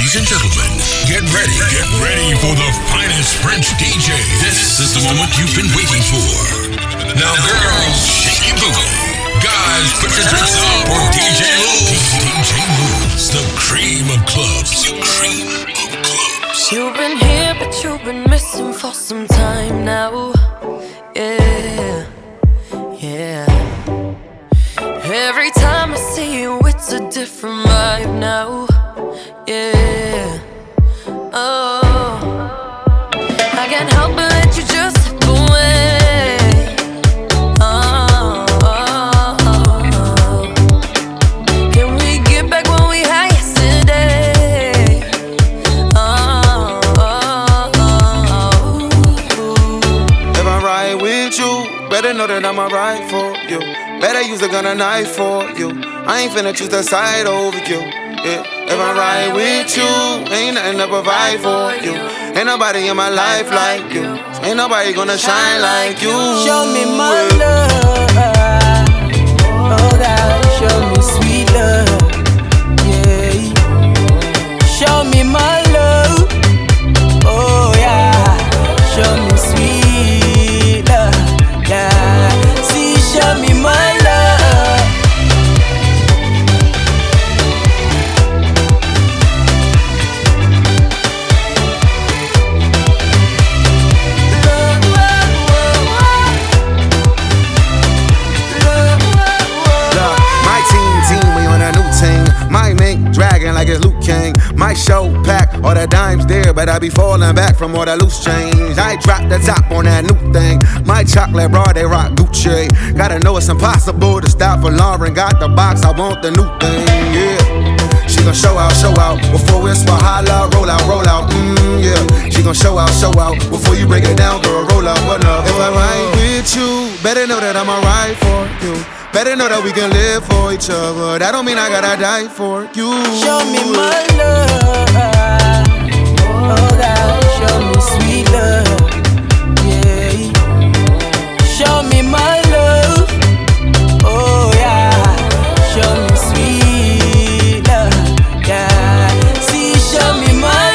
Ladies and gentlemen, get ready for the finest French DJ. This is the moment you've been waiting for. Now girls, shake your booty. Guys, put your drinks up for DJ Lou. DJ Lou's the cream of clubs. The cream of clubs. You've been here, but you've been missing for some time now. Yeah, yeah. Every time I see you, it's a different vibe now. Yeah, oh, I can't help but let you just slip away. Oh, oh, oh. Can we get back what we had yesterday? Oh, oh, oh. If I ride with you, better know that I'ma ride for you. Better use a gun or knife for you. I ain't finna choose the side over you. Yeah. If I ride with you, ain't nothing to provide for you. Ain't nobody in my life like you. Ain't nobody gonna shine like you. Show me my love. Oh God, show me sweet love. Yeah. Show me my love. Oh yeah. Show me sweet love. Yeah. See, show me my love. Dragging like it's Luke King. My show pack, all the dimes there, but I be falling back from all the loose change. I drop the top on that new thing. My chocolate bra, they rock Gucci. Gotta know it's impossible to stop for Lauren. Got the box, I want the new thing, yeah. She gon' show out before it's for holla, roll out, yeah. She gon' show out before you break it down, girl, roll out, what up? If I ride with you, better know that I'ma ride for you. Better know that we can live for each other. That don't mean I gotta die for you. Show me my love. Oh God, show me sweet love. Yeah. Show me my love. Oh yeah. Show me sweet love. Yeah. See, show me my love.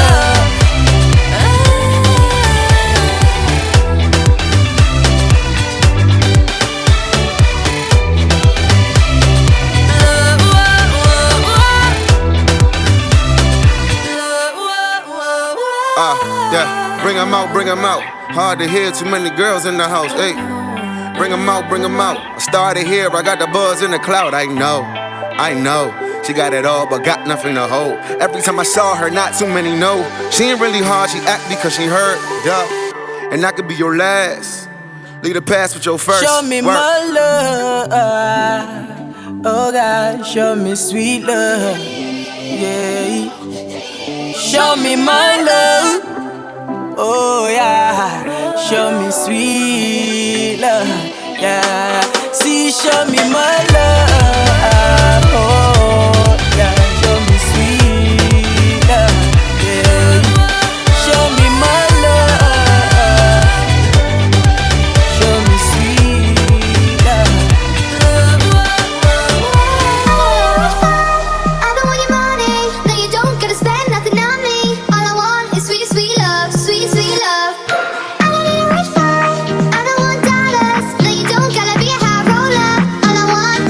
Bring 'em out. Hard to hear, too many girls in the house. Hey, bring 'em out. I started here, I got the buzz in the cloud. I know. She got it all, but got nothing to hold. Every time I saw her, not too many know. She ain't really hard, she act because she hurt. Duh. And I could be your last. Leave the past with your first. Show me my love. Oh God, show me sweet love. Yeah. Show me my love. Oh yeah, show me sweet love, yeah. See, show me my love. Oh yeah, show me sweet love, yeah. Show me my love. Show me sweet love. I don't want your money. No, you don't gotta spend nothing on me. All I want is sweet, sweet love. Sweet, sweet love. I don't need a rich boy. I don't want dollars. No, you don't gotta be a high roller. All I want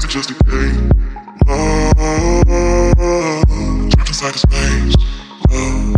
just a game. Love, trapped inside the space. Love.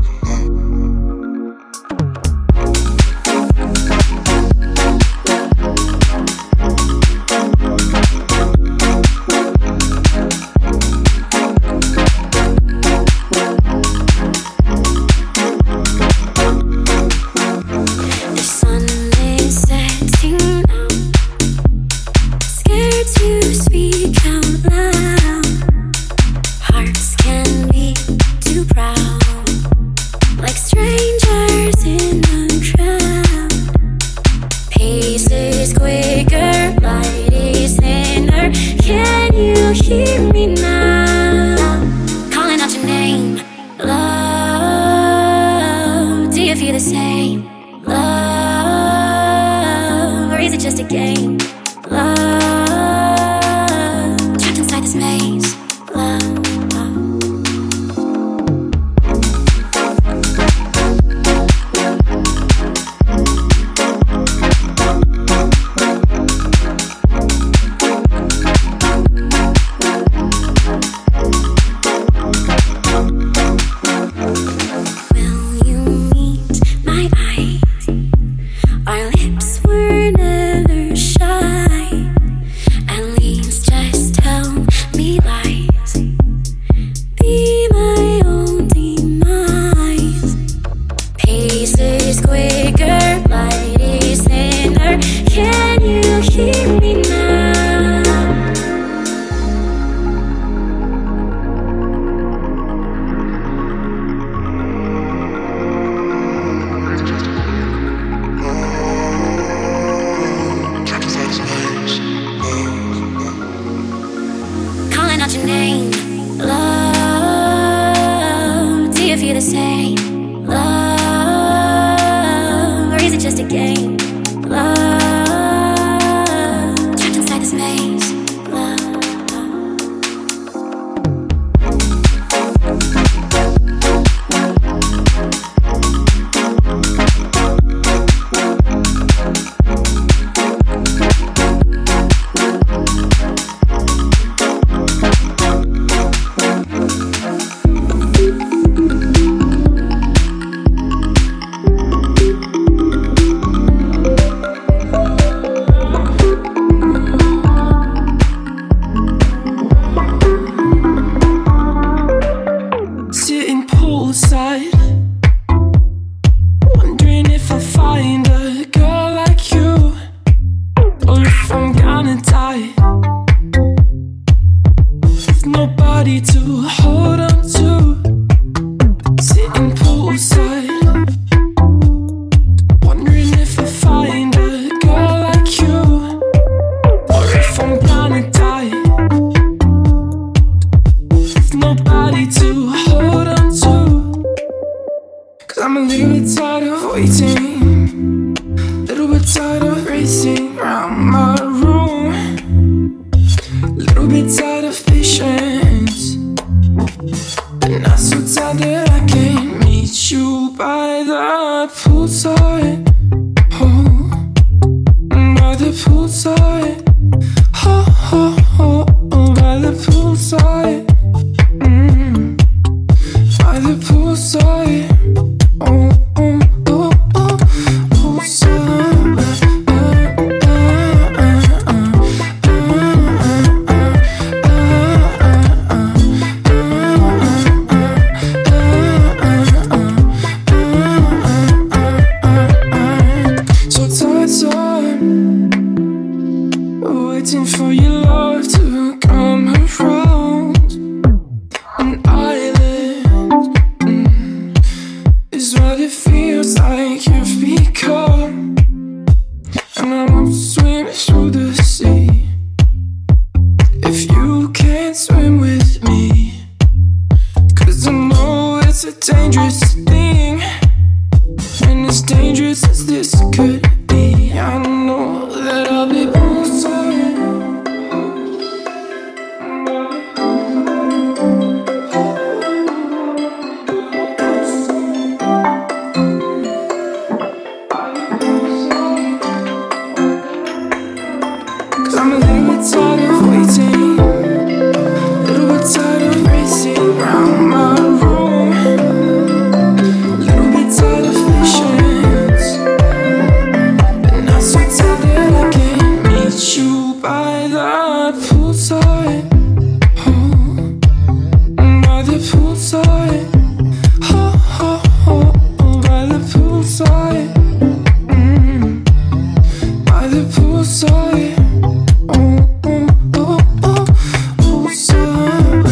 I'm a little bit tired of waiting. the poolside, oh, by the poolside, oh, oh, oh, oh, by the poolside, by the poolside, oh, oh, oh, oh, poolside.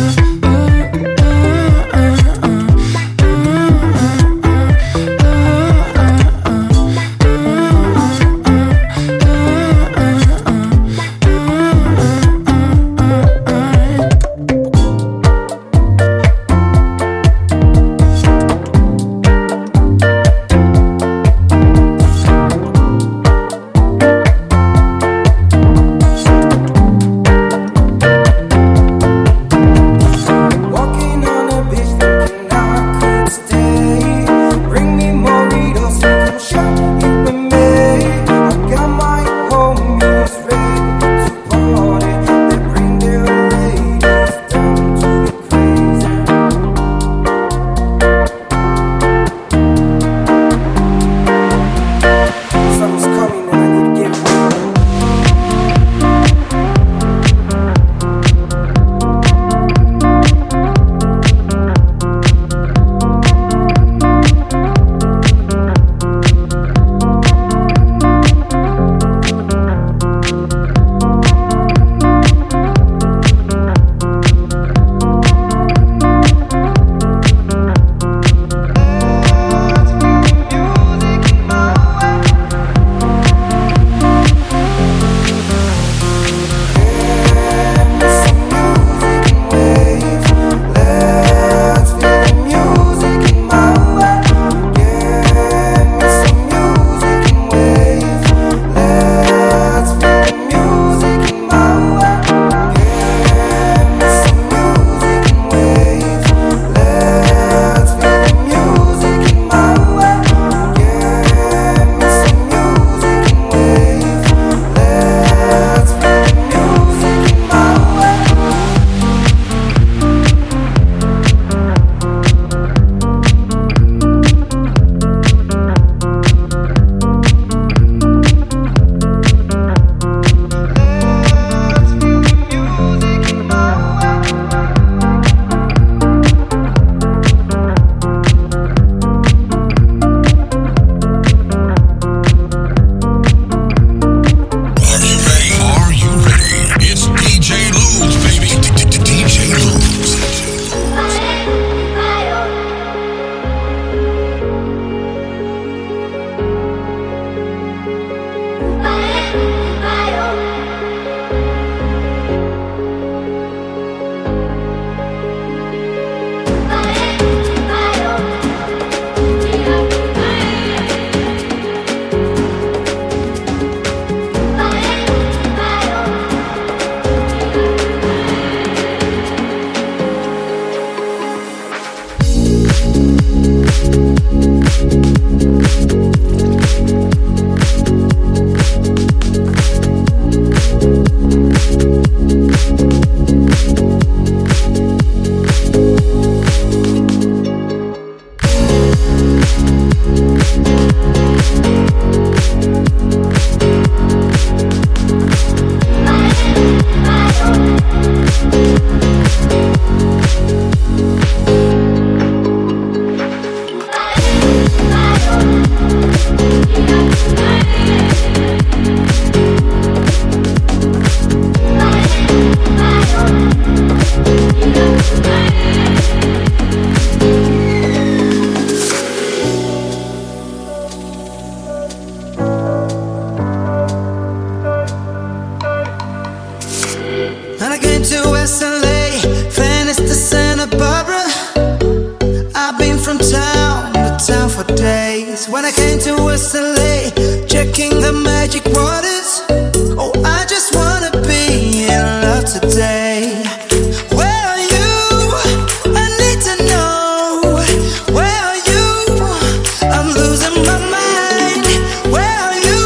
When I came to West LA, checking the magic waters. Oh, I just wanna be in love today. Where are you? I need to know. Where are you? I'm losing my mind. Where are you?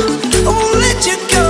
I won't let you go.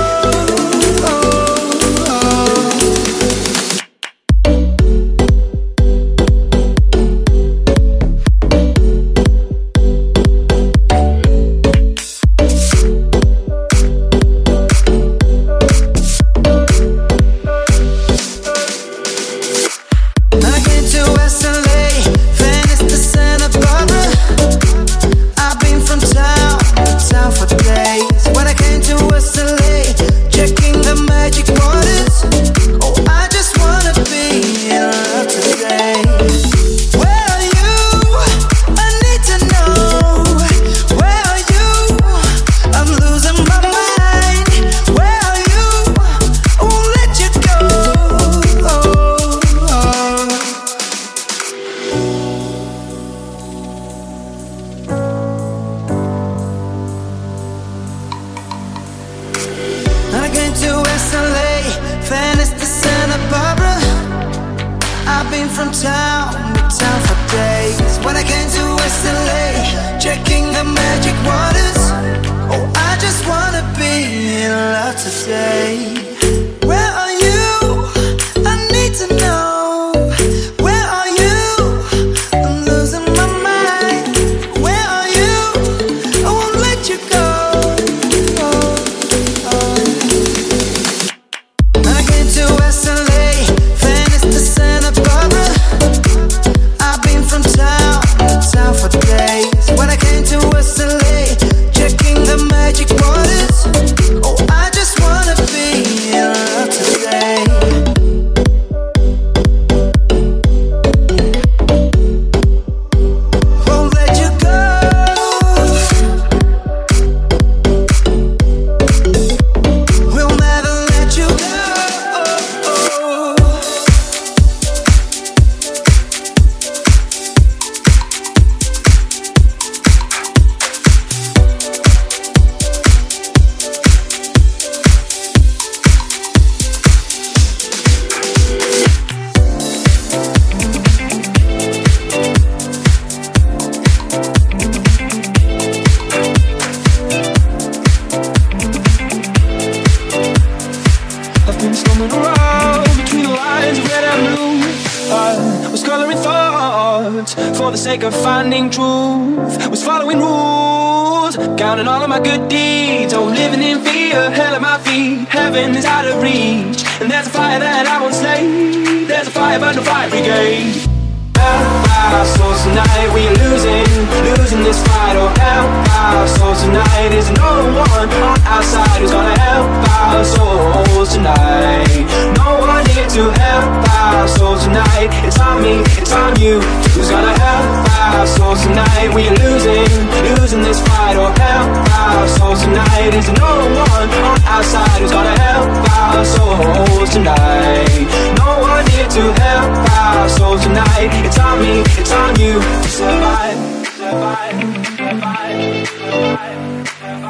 thoughts for the sake of finding truth. Was following rules, counting all of my good deeds. Oh, living in fear, hell at my feet. Heaven is out of reach, and there's a fire that I won't slay. There's a fire but no fire brigade. Help our souls tonight, we are losing this fight. Oh, help our souls tonight. There's no one on our side who's gonna help our souls tonight. No one here to help our souls tonight. It's on me, it's on you. Who's gonna help our souls tonight? We are losing this fight. Oh, help our souls tonight. There's no one on our side who's gonna help our souls tonight. No one here to help our souls tonight. It's on me, it's on you to survive, survive, survive, survive,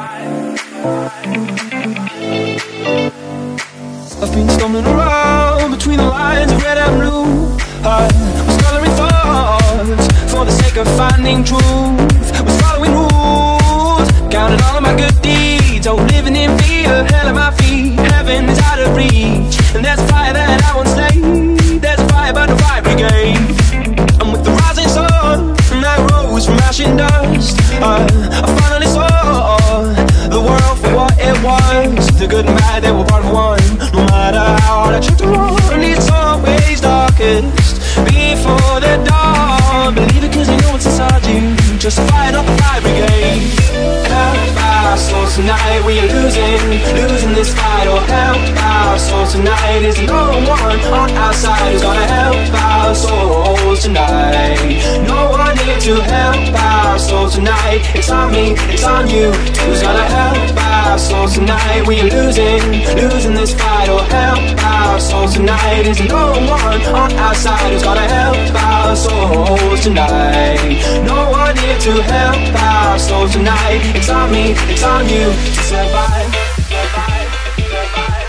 survive. I've been stumbling around between the lines of red and blue. I was coloring thoughts for the sake of finding truth. Was following rules, counting all of my good deeds. Oh, living in fear, hell at my feet. Heaven is out of reach, and there's a fire that I won't slay. There's a fire but no fire brigade. I'm with the rising sun, and I rose from ash and dust. I finally saw the world for what it was. The good and bad, they were part of one. No matter how hard I try to run, it's always darkest before the dawn. Believe it 'cause you know it's inside you. Just fight up the fire brigade. Help our souls tonight, we are losing this fight. Oh, help our souls tonight. There's no one on our side who's gonna help our souls tonight. No one here to help our souls tonight. It's on me, it's on you. Who's gonna help our souls tonight? We are losing this fight. Oh, help our souls tonight. There's no one on our side who's gonna help our souls tonight. No one here to help our souls tonight. It's on me, it's on you to survive, survive, survive.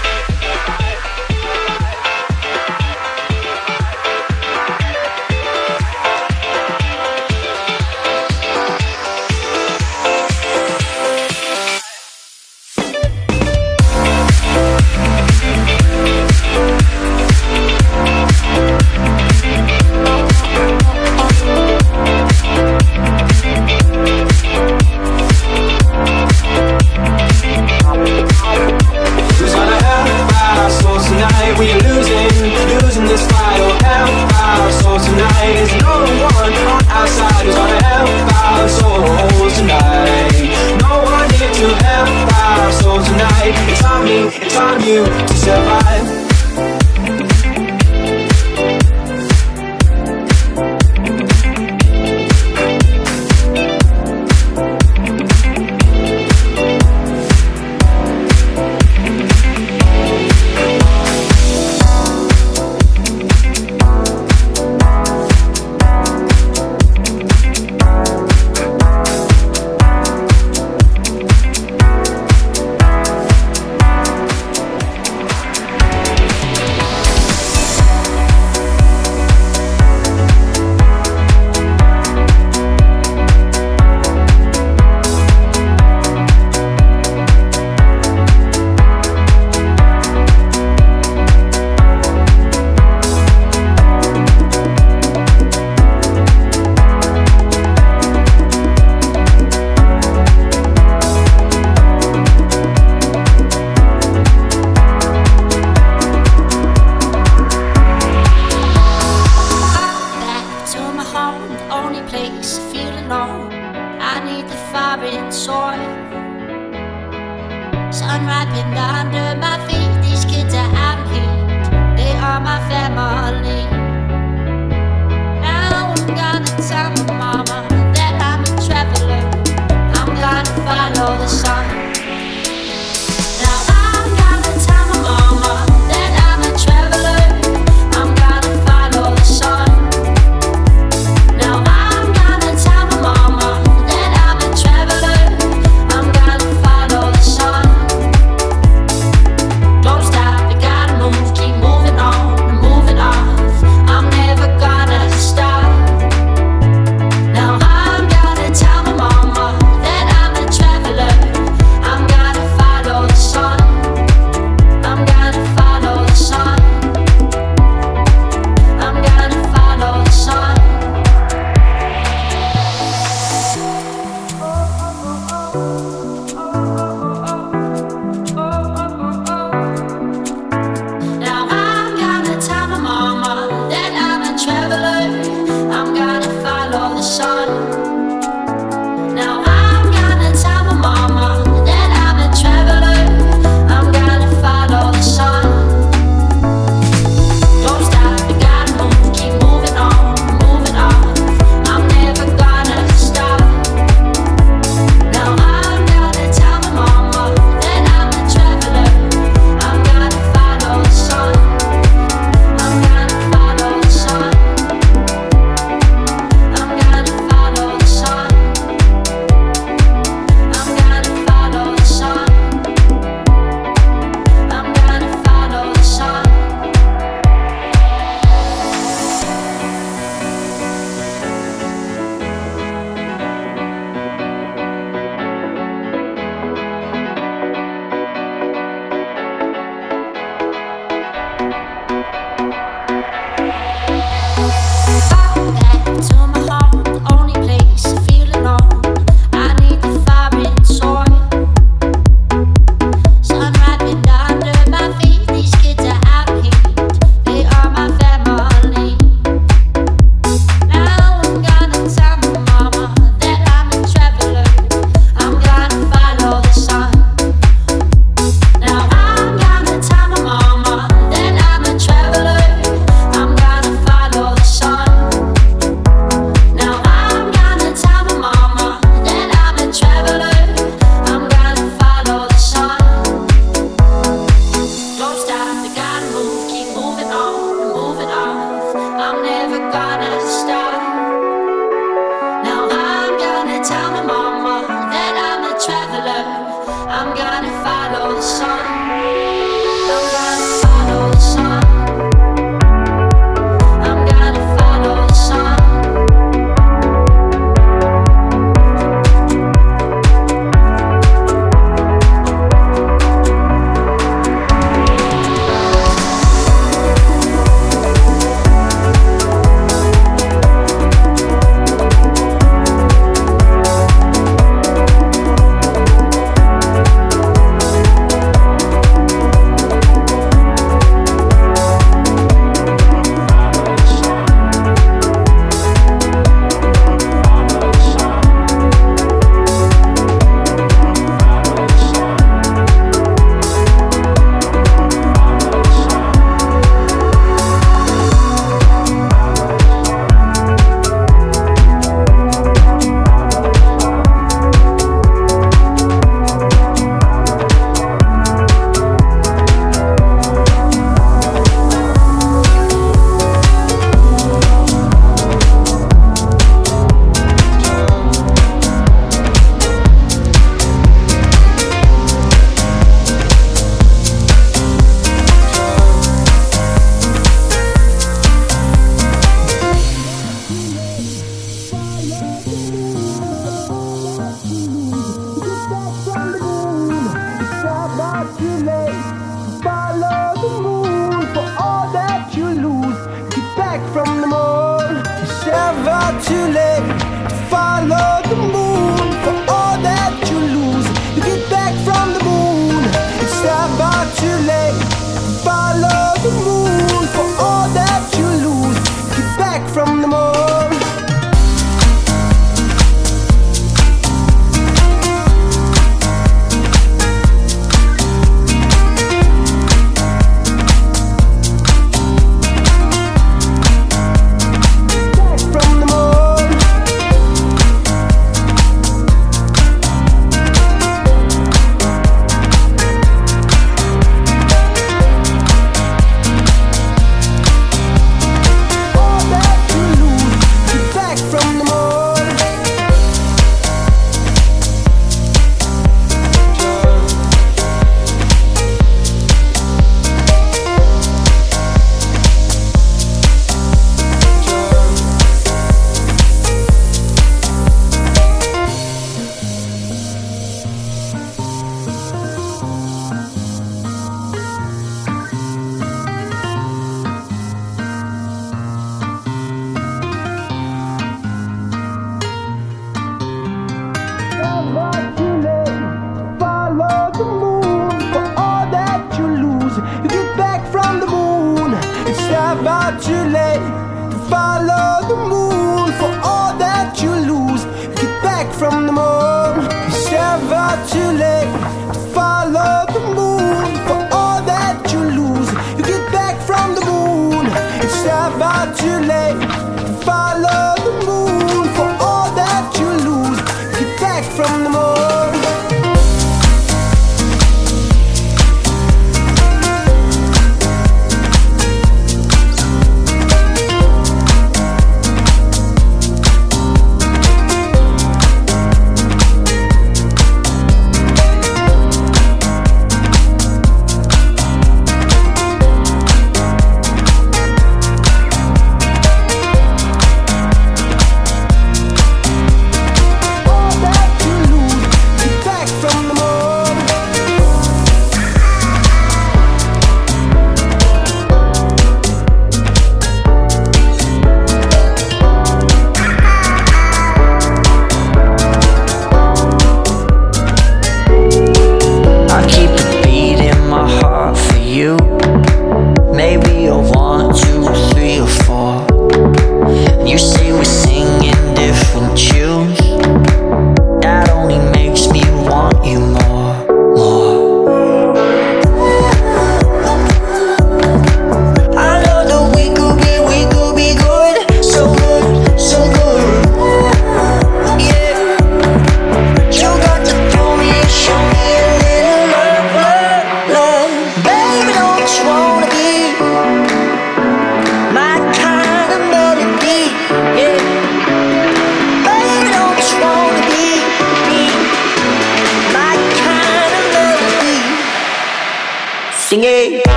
never too late to follow the moon. For all that you lose, get back from the moon. It's never too late to follow the moon. For all that you lose, you get back from the moon. It's never too late to follow the moon. For all that you lose, get back from the moon.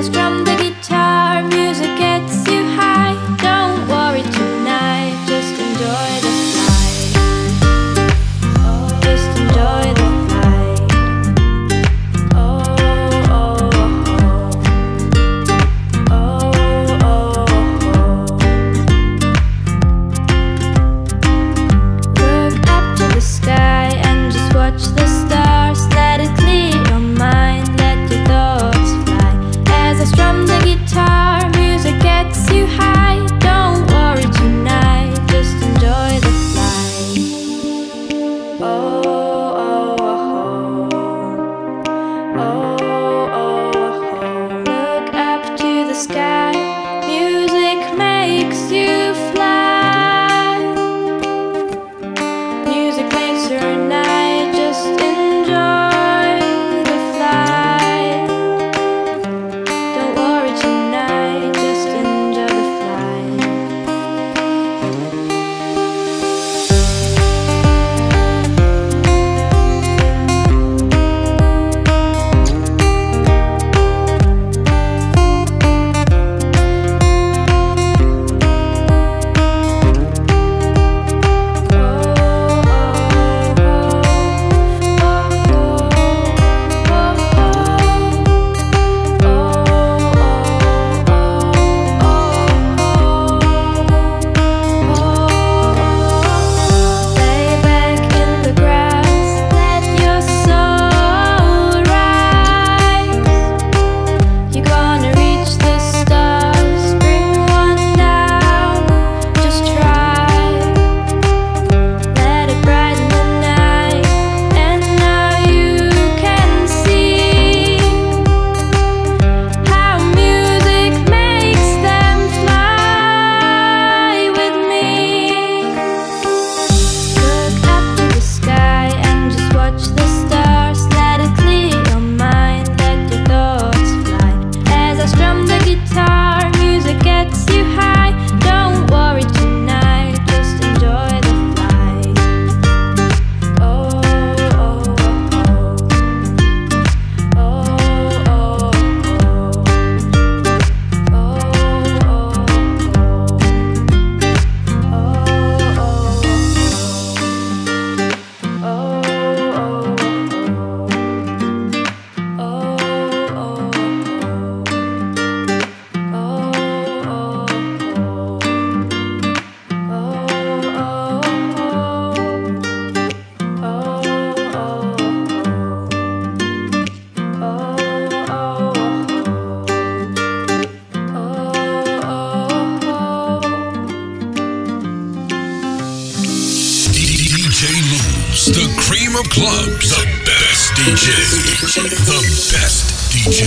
The cream of clubs, the best DJ, the best DJ.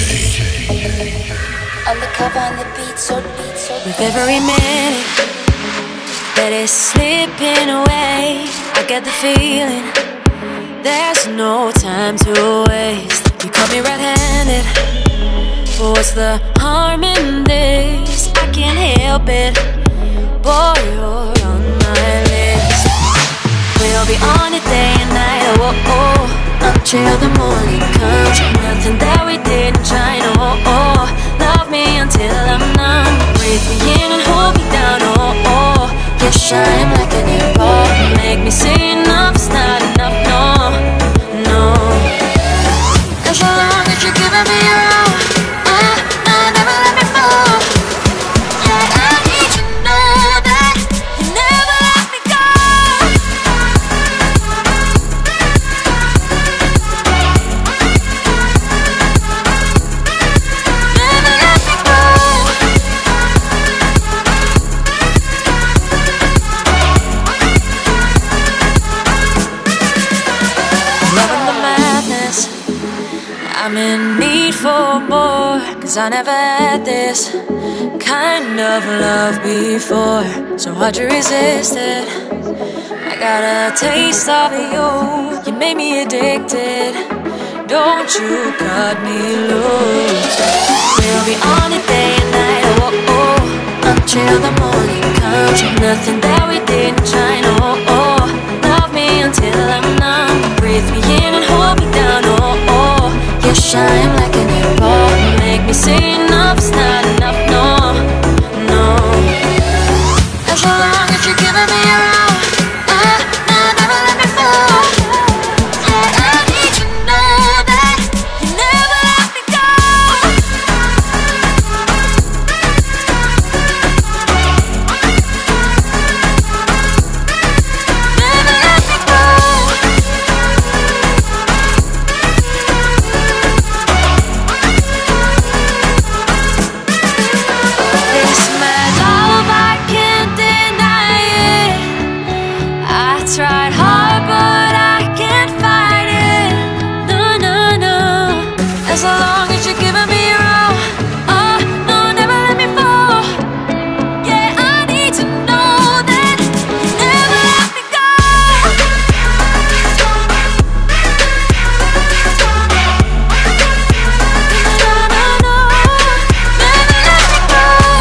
On the cover, on the beat, so with every minute that is slipping away, I get the feeling there's no time to waste. You caught me red-handed, but what's the harm in this? I can't help it, boy, you're on my list. We'll be on it day and night, oh, oh, oh, until the morning comes. Nothing that we didn't try, no, oh, oh. Love me until I'm numb. Breathe me in and hold me down, oh, oh. You shine like a new ball. Make me say enough's not enough, no, no. And so long that you're giving me your all, no, never let me fall. Yeah, I need you to know that you never let me go. Never let me go. Loving the madness, I'm in need for more, 'cause I never had this kind of love before. So hard to resist it. I got a taste of you. You made me addicted. Don't you cut me loose. We'll be on it day and night, oh, oh, oh, until the morning comes. Nothing that we didn't try, no, oh, oh. Love me until I'm numb. Breathe me in and hold me down, oh, oh. You shine like a new ball. Make me say enough. love's not enough, no, no. As long as you're giving me your all, never let me fall. Yeah, I need to know that you never let me go. Never let me go. This mad love, I can't deny it. I tried hard, but I can't fight it. No, no, no. As long as you're giving me your all, no, never let me fall. Yeah, I need to know that you never let me go. No, no, no, never let me go.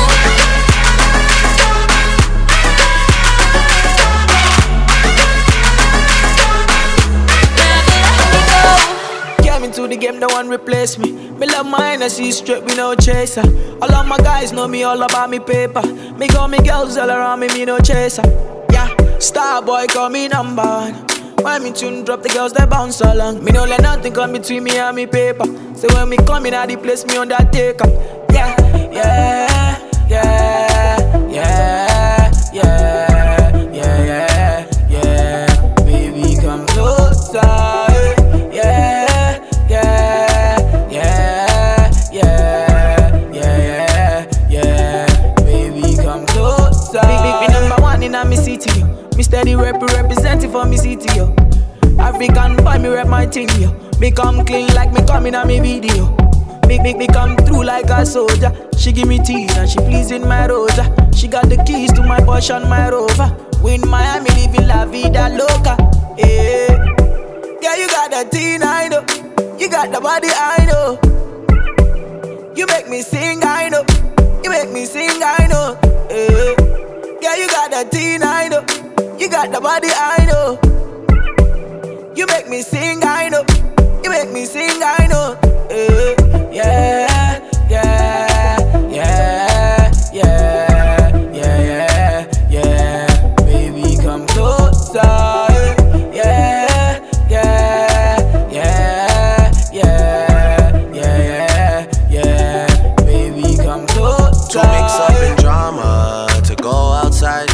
Came into the game, no one replace me. Me love my Hennessy straight, we no chaser. All of my guys know me all about me paper. Me got me girls all around me, me no chaser. Yeah, star boy call me number one. When me tune drop, the girls they bounce along. Me no let nothing come between me and me paper. So when me come in at the place, me undertaker. Yeah, yeah, yeah, yeah, yeah, yeah, yeah, yeah. Baby, come closer. Yeah, yeah, yeah, yeah, yeah, yeah. Baby, come closer. Big number one in a me city, yo. Me steady representing for me city, yo. African boy, me rep my thing, yo. Me come clean like me coming on me video. Me come through like a soldier. She give me tea and she pleasing my rosa. She got the keys to my Porsche and my Rover. We in Miami living la vida loca. Yeah, yeah, you got the teen, I know. You got the body, I know. You make me sing, I know. You make me sing, I know. Yeah, yeah, you got the teen, I know. You got the body, I know. You make me sing, I know. You make me sing, I know. Yeah, yeah, yeah, yeah, yeah, yeah, yeah. Baby, come closer. Yeah, yeah, yeah, yeah, yeah, yeah. Baby, come closer. To mix up in drama, to go outside.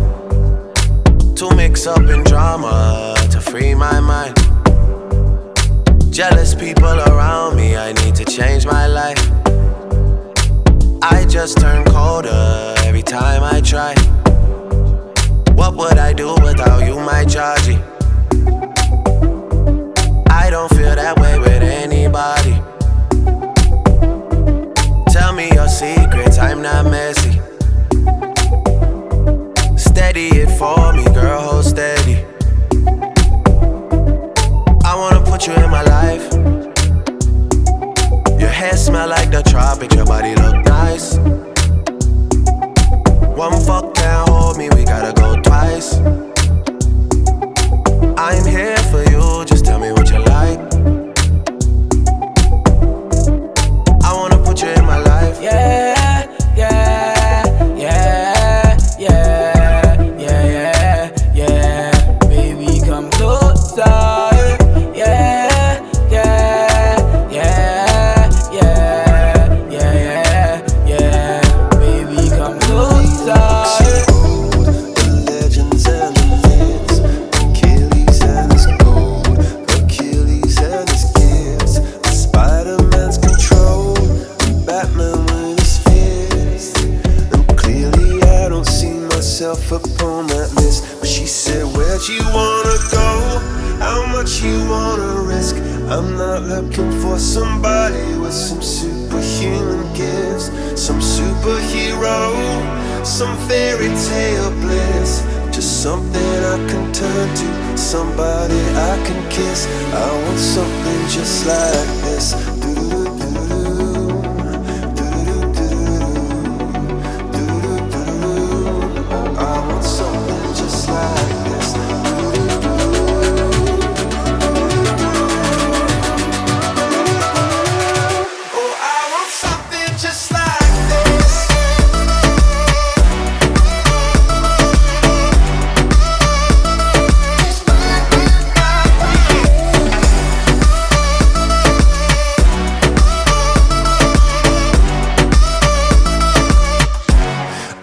To mix up in drama, to free my mind. Jealous people around me, I need to change my life. I just turn colder every time I try. What would I do without you, my Georgie? I don't feel that way with anybody. Tell me your secrets, I'm not messy. Steady it for me, girl, hold steady. I wanna put you in my life. Your hair smell like the tropics, your body look nice. One fuck can't hold me, we gotta go twice. I'm here for you, just tell me what you like. I wanna put you in my life. Yeah, yeah, yeah, yeah, yeah, yeah, yeah. Baby, come closer. Upon that list, but she said, where'd you wanna go? How much you wanna risk? I'm not looking for somebody with some superhuman gifts, some superhero, some fairy tale bliss. Just something I can turn to, somebody I can kiss. I want something just like this. Just like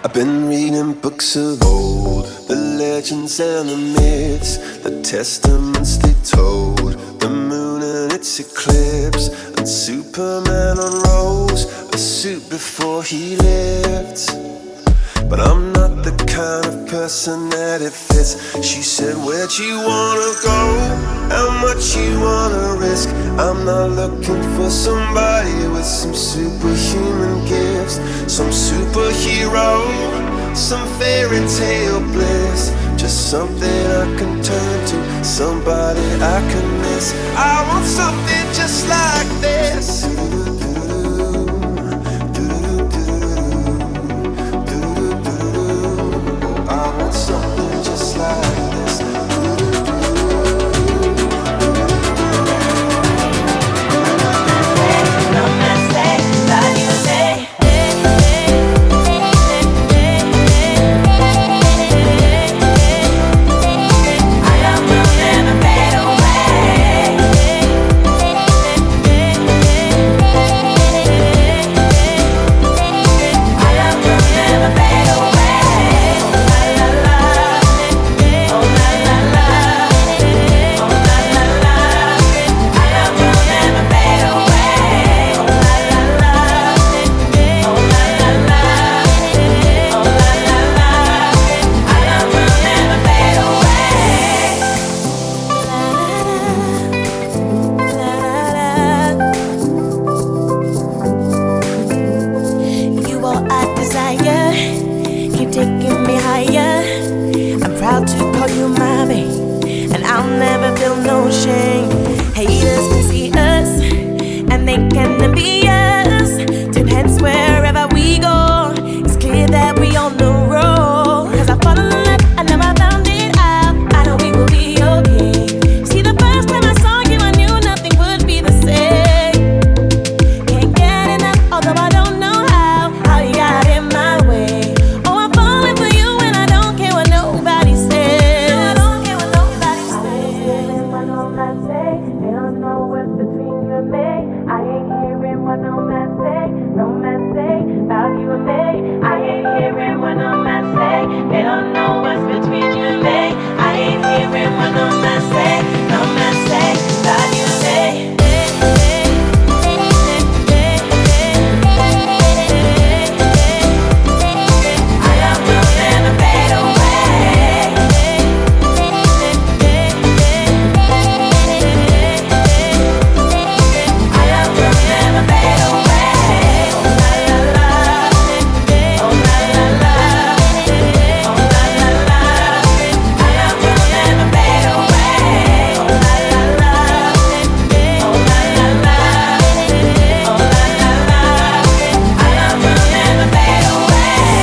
I've been reading books of old, the legends and the myths, the testaments they told, the moon and its eclipse, and Superman unrolls a suit before he lived. But I'm not the kind of person that it fits. She said, where'd you wanna go? How much you wanna risk? I'm not looking for somebody with some superhuman gifts, some superhero, some fairy tale bliss. Just something I can turn to, somebody I can miss. I want something just like this. I want something just like this. No mistake, love you say. I love will never fade away. I love will never fade away. La la la, oh la la la, oh la la la. I love will never fade away. Oh la la la, oh la la la, oh la la la. I love will never fade away. You are a desire, keep taking me higher. I'm proud to call you my babe, and I'll never feel no shame. Haters can see us, and they can envy us. Turn heads wherever we go. It's clear that we on the road. 'Cause I fall in love, I never found it out. I know we will be okay. See, the first time I saw you, I knew nothing would be the same. Can't get enough, although I don't know how you got in my way. Oh, I'm falling for you, and I don't care what nobody says. I don't care what nobody says. What no man say, they don't know what's between you and me. I ain't hearing what no man say about you and me. I ain't hearing what no man say, they don't know what's between you and me. I ain't hearing what no man say about you and me. I love will never fade away. I love will never fade away. Oh la la la, oh la la la, oh la la la. I love will never fade away. Oh la la la, oh la la la, oh la la la. I love will never fade away.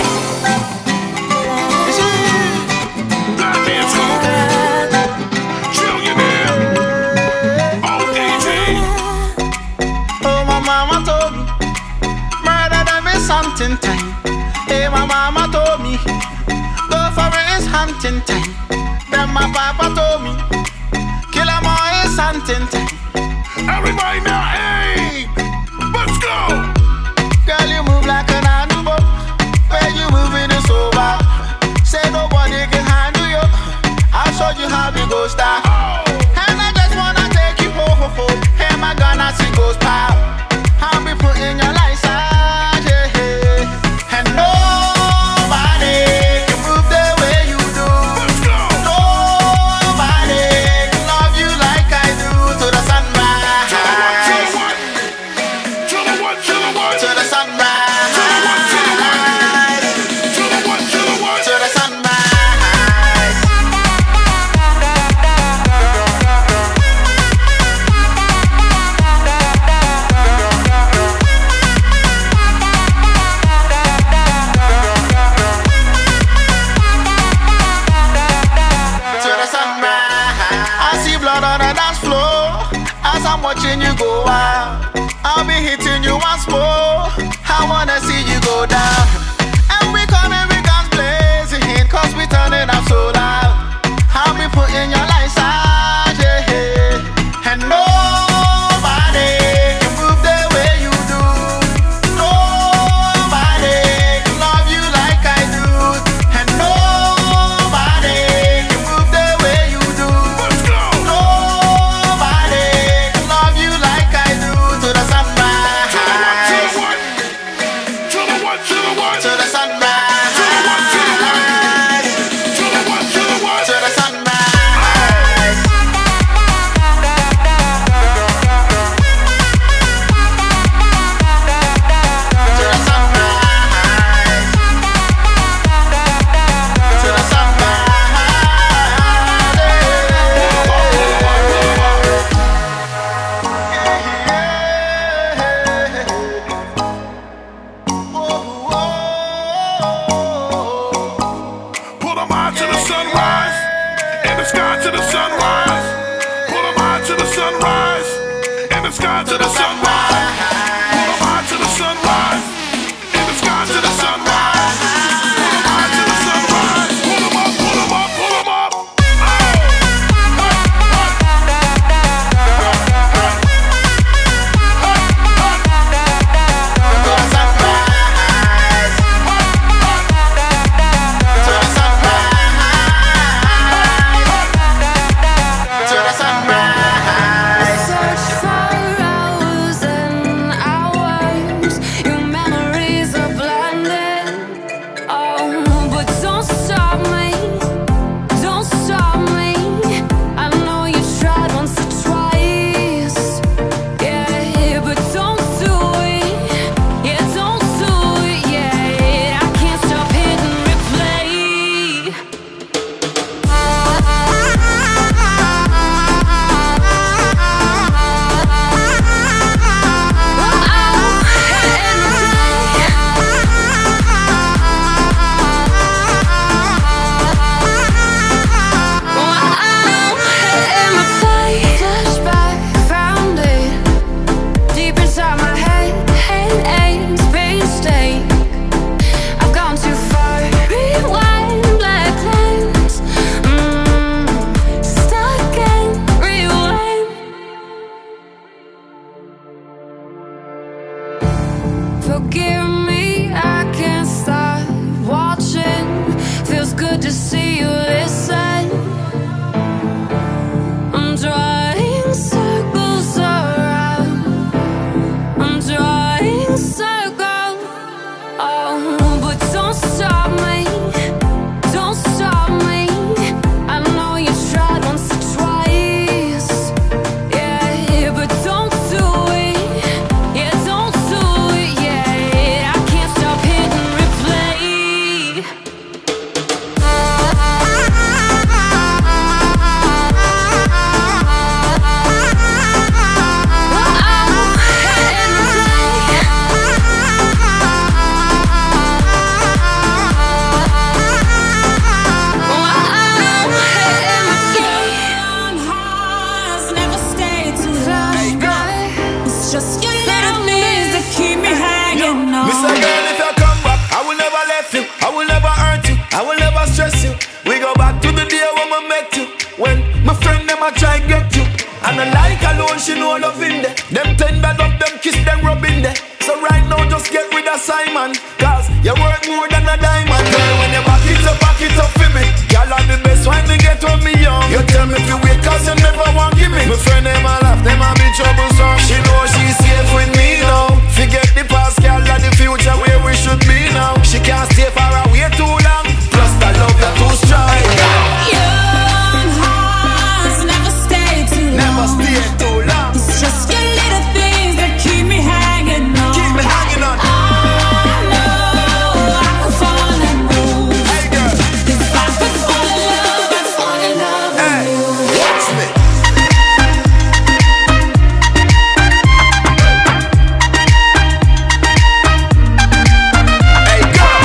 Goddamn school. Trillionaire. Oh, DJ. Oh, my mama told me, murder them is hunting time. Hey, my mama told me, go for it is hunting time. Then my papa told me, kill 'em all is hunting time. Everybody now, hey, let's go. Girl, you move like an animal. Where you moving is so bad. Say nobody can handle you. I'll show you how we go start. And I just wanna take you home. Hey, my gun, I see goes pow. I'll be putting your license, yeah. And nobody can move the way you do. Nobody can love you like I do. To the sunrise. To the what? To the what? To the what? To the sunrise. To the what? To the what? To the what? To the what? To the sunrise. to the sunrise, to the what, to the what, to the what, to the what, to the sunrise. To the sunrise, to the sunrise. Pull them on to the sunrise, in the sky to the sunrise. Pull them on to the sunrise, in the sky to the sunrise. Pull them on to the sunrise, in the sky to the sunrise. Pull them on to the sunrise. Pull them up, pull them up, pull them up. Forgive me, I can't stop watching. Feels good to see you listen. I'm drawing circles around. I'm drawing circles. Oh, but don't stop me. Don't stop me. I know you tried once or twice. Yeah, but don't do it. Yeah, don't do it. Yeah, I can't stop hitting replay. Just your little things that keep me hanging on. Mr. Girl, if you come back, I will never let you. I will never hurt you. I will never stress you. We go back to the day when we met you. When my friend them a try get you. And I like alone, she know love in there. Them tender love, them kiss, them rub in there. So right now, just get rid of Simon. Cause you worth more than a diamond. Girl, when you back it up for me. Y'all are the best when me get when me young. You tell me if you wait cause you never want give me. My friend them a laugh, them a be troublesome. She know she's safe with me now. Forget the past, girl, and the future where we should be now. She can't stay far away too long. Plus the love you too strong. Young hearts never stay too long. Never stay too long. It's just your little things that keep me hanging on. Keep me hanging on. I know I could fall in love. Hey girl, If I could fall in love, I'd fall in love hey, with you. watch me. Hey girl.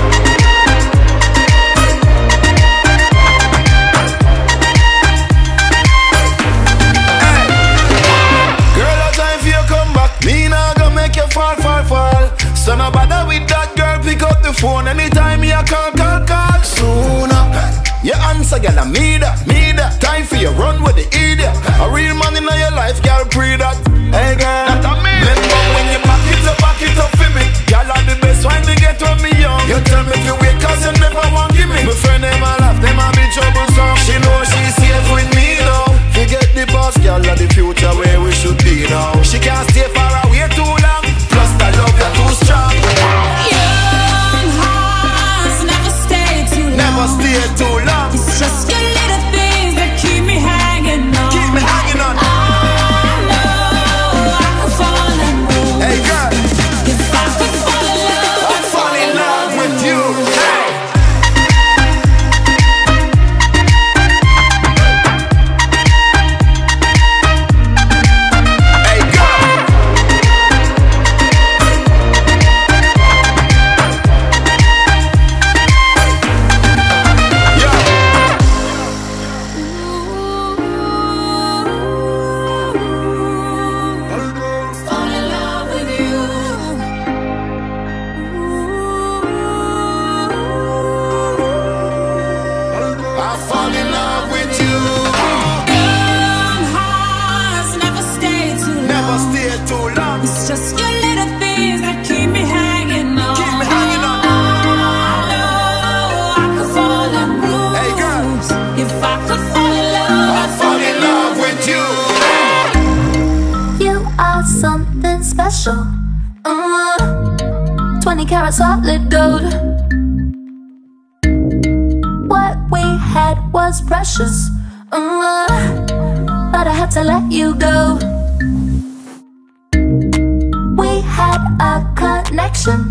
Girl, no time for you come back. Me nah gonna make you fall. So no bother with that girl, pick up the phone anytime you call. Sooner you answer, girl, I me that. Time for you run with the idiot. A real man in your life, girl, pre that. Hey girl, remember when you back it up for me. Girl, are the best when me get when me young. You tell me if you wait cause you never want give me. My friend them a laugh, them a be troublesome. She know she's safe with me now. Forget the past, girl, and the future where we should be now. She can't stay far away too long. Plus the love you too strong. Yeah. too long. It's just your little things that keep me hanging on. Keep me hanging on. I know I could fall in love. Hey girl, if I could fall in love, I'd fall in love with you. Hey. Special, 20 karat solid gold. What we had was precious, but I had to let you go. We had a connection,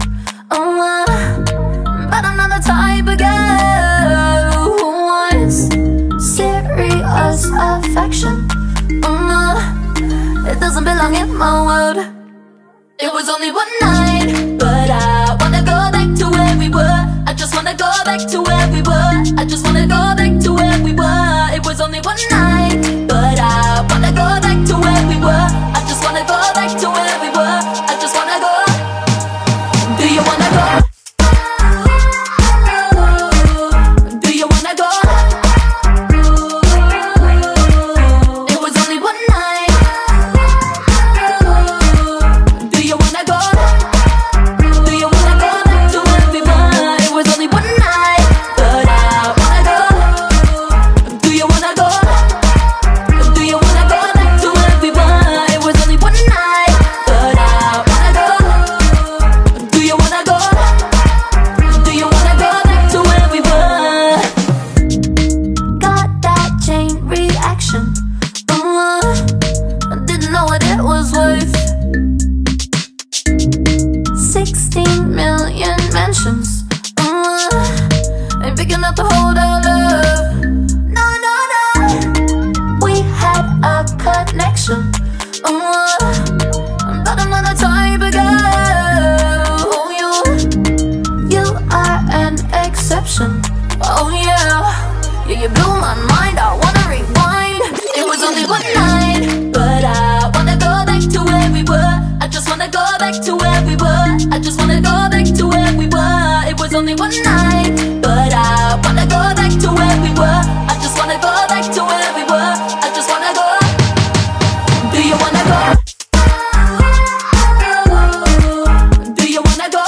but I'm not the type of girl who wants serious affection. It doesn't belong in my world. It was only one night, but I wanna go back to where we were. I just wanna go back to where we were. I just wanna go back to where we were. It was only one night, but I wanna go back to where we were. I just wanna go back to where we were. I just wanna go. Do you wanna go? Do you wanna go? It was only one night. Oh yeah, you blew my mind, I wanna rewind. It was only one night, but I wanna go back to where we were. I just wanna go back to where we were. I just wanna go back to where we were. It was only one night, but I wanna go back to where we were. I just wanna go back to where we were. I just wanna go. Do you wanna go? Do you wanna go?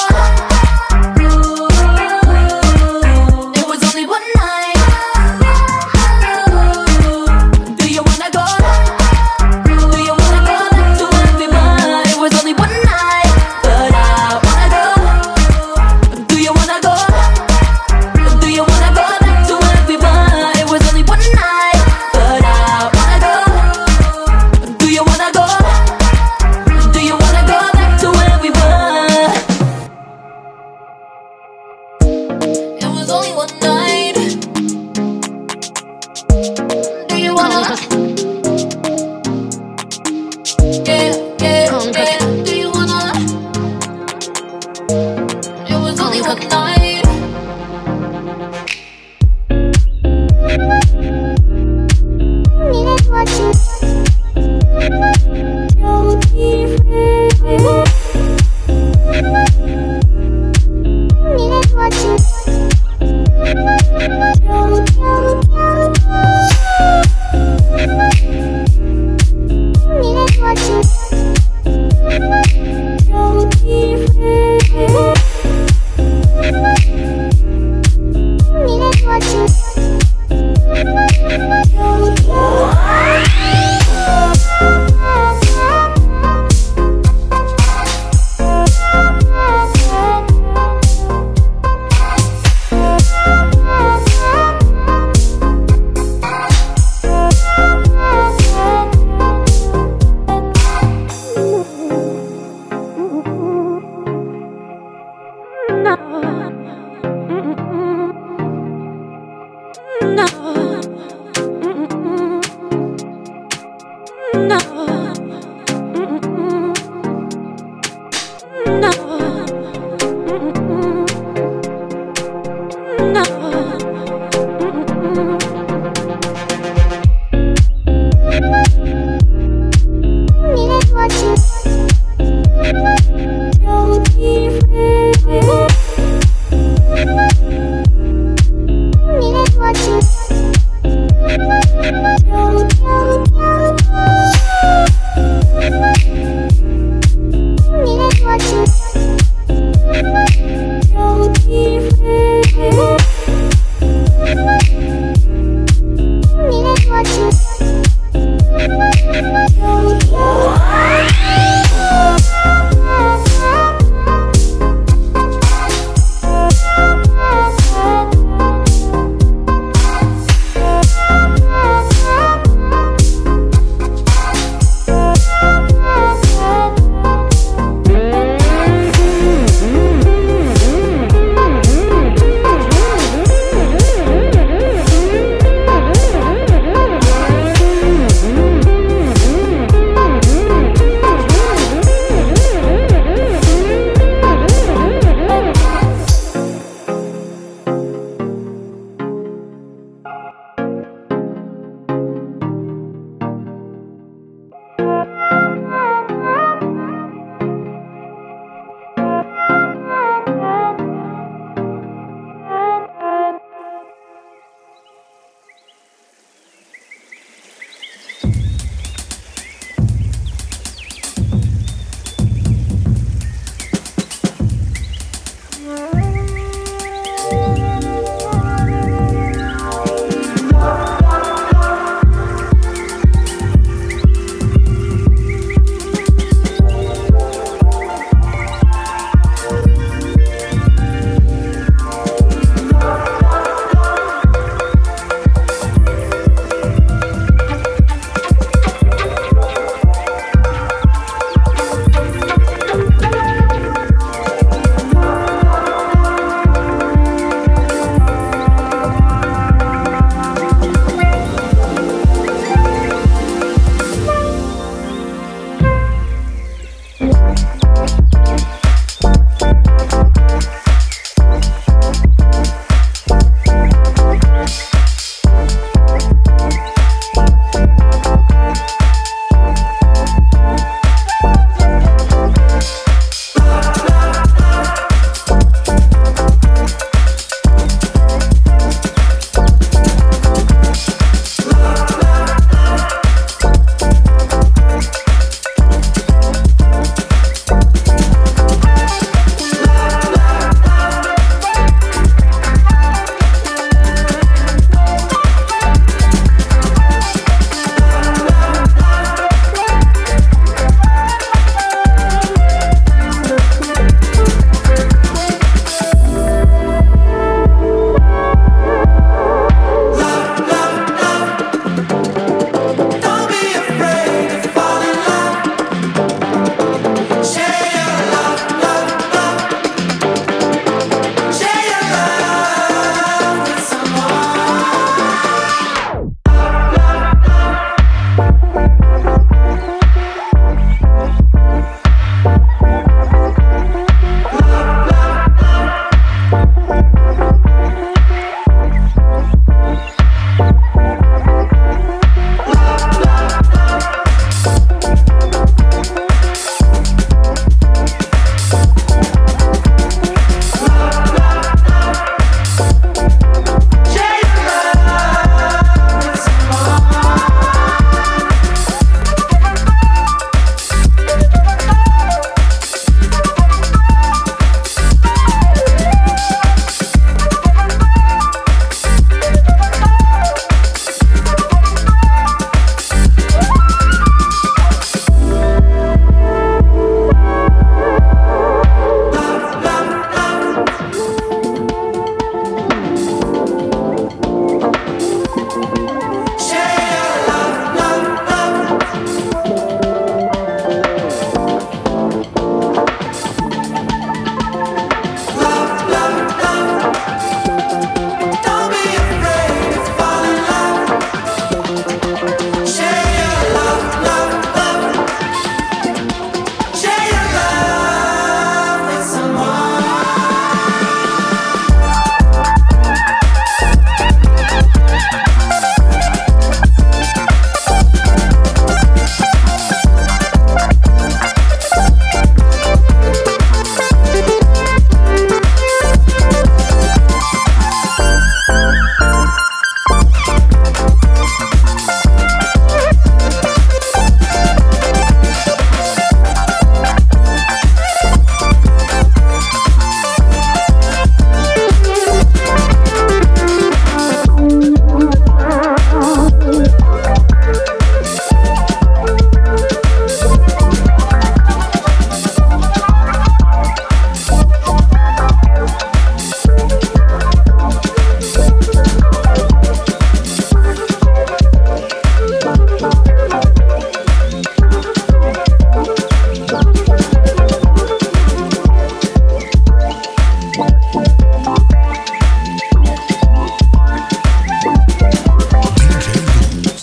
Watching.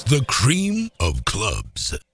The cream of clubs.